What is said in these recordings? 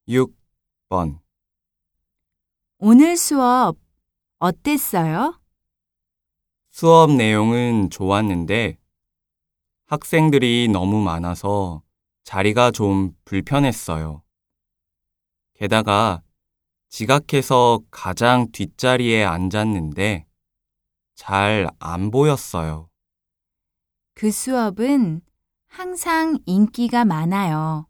6번. 오늘 수업 어땠어요? 수업 내용은 좋았는데 학생들이 너무 많아서 자리가 좀 불편했어요. 게다가 지각해서 가장 뒷자리에 앉았는데 잘 안 보였어요. 그 수업은 항상 인기가 많아요.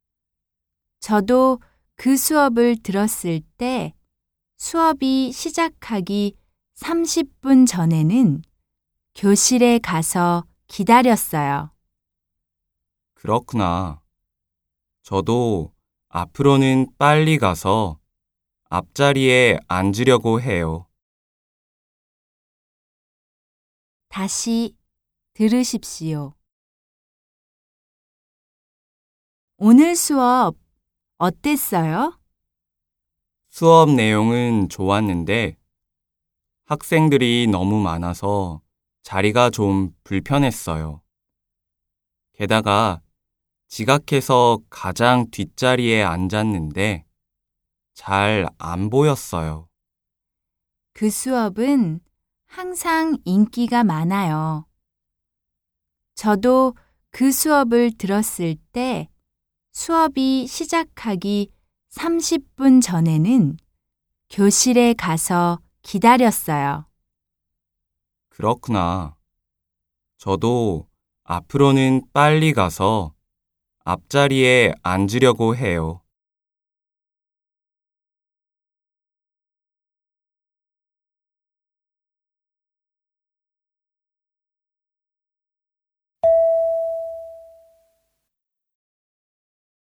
저도 그 수업을 들었을 때 수업이 시작하기 30분 전에는 교실에 가서 기다렸어요. 그렇구나. 저도 앞으로는 빨리 가서 앞자리에 앉으려고 해요. 다시 들으십시오. 오늘 수업 어땠어요? 수업 내용은 좋았는데 학생들이 너무 많아서 자리가 좀 불편했어요. 게다가 지각해서 가장 뒷자리에 앉았는데 잘 안 보였어요. 그 수업은 항상 인기가 많아요. 저도 그 수업을 들었을 때 수업이 시작하기 30분 전에는 교실에 가서 기다렸어요. 그렇구나. 저도 앞으로는 빨리 가서 앞자리에 앉으려고 해요.